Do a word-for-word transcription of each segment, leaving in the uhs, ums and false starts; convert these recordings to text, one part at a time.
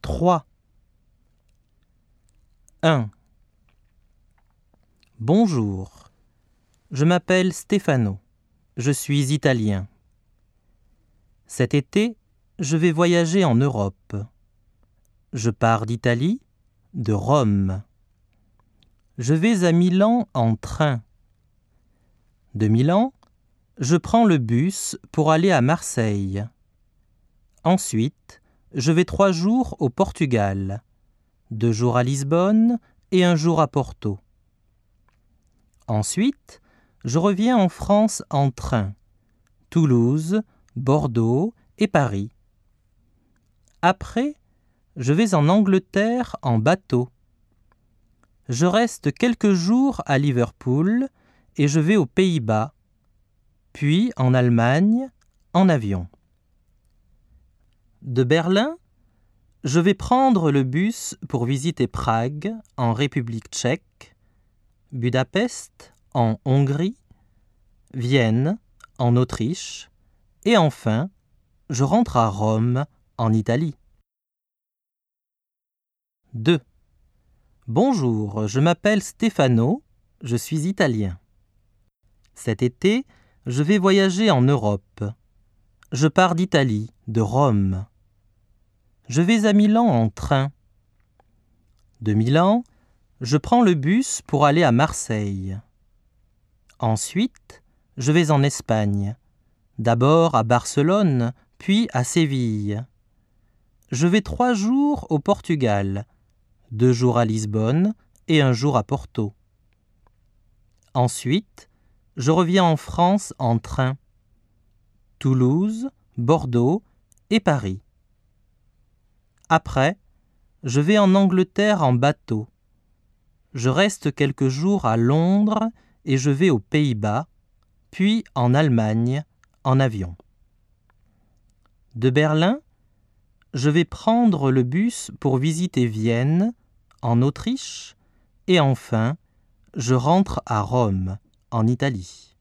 trois. un. Bonjour, je m'appelle Stefano, je suis italien. Cet été, je vais voyager en Europe. Je pars d'Italie, de Rome. Je vais à Milan en train. De Milan, je prends le bus pour aller à Marseille. Ensuite, je vais trois jours au Portugal, deux jours à Lisbonne et un jour à Porto. Ensuite, je reviens en France en train, Toulouse, Bordeaux et Paris. Après, je vais en Angleterre en bateau. Je reste quelques jours à Liverpool et je vais aux Pays-Bas, puis en Allemagne en avion. De Berlin, je vais prendre le bus pour visiter Prague en République tchèque, Budapest en Hongrie, Vienne en Autriche et enfin, je rentre à Rome en Italie. deux. Bonjour, je m'appelle Stefano, je suis italien. Cet été, je vais voyager en Europe. Je pars d'Italie, de Rome. Je vais à Milan en train. De Milan, je prends le bus pour aller à Marseille. Ensuite, je vais en Espagne, d'abord à Barcelone, puis à Séville. Je vais trois jours au Portugal, deux jours à Lisbonne et un jour à Porto. Ensuite, je reviens en France en train, Toulouse, Bordeaux et Paris. Après, je vais en Angleterre en bateau. Je reste quelques jours à Londres et je vais aux Pays-Bas, puis en Allemagne en avion. De Berlin, je vais prendre le bus pour visiter Vienne, en Autriche, et enfin, je rentre à Rome, en Italie.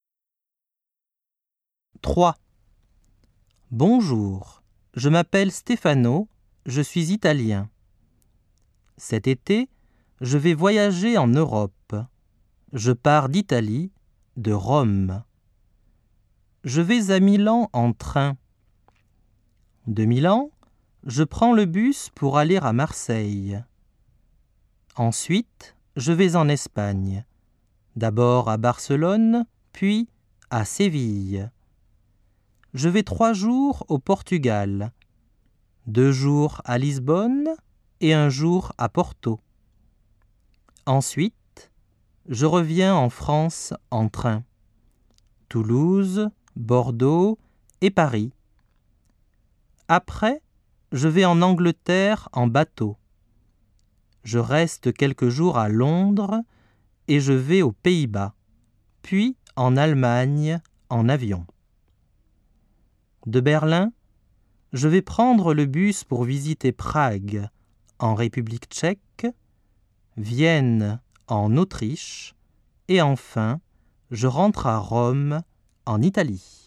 trois. Bonjour, je m'appelle Stefano, je suis italien. Cet été, je vais voyager en Europe. Je pars d'Italie, de Rome. Je vais à Milan en train. De Milan, je prends le bus pour aller à Marseille. Ensuite, je vais en Espagne, d'abord à Barcelone, puis à Séville. Je vais trois jours au Portugal, deux jours à Lisbonne et un jour à Porto. Ensuite, je reviens en France en train, Toulouse, Bordeaux et Paris. Après, je vais en Angleterre en bateau. Je reste quelques jours à Londres et je vais aux Pays-Bas, puis en Allemagne en avion. De Berlin, je vais prendre le bus pour visiter Prague en République tchèque, Vienne en Autriche et enfin, je rentre à Rome en Italie.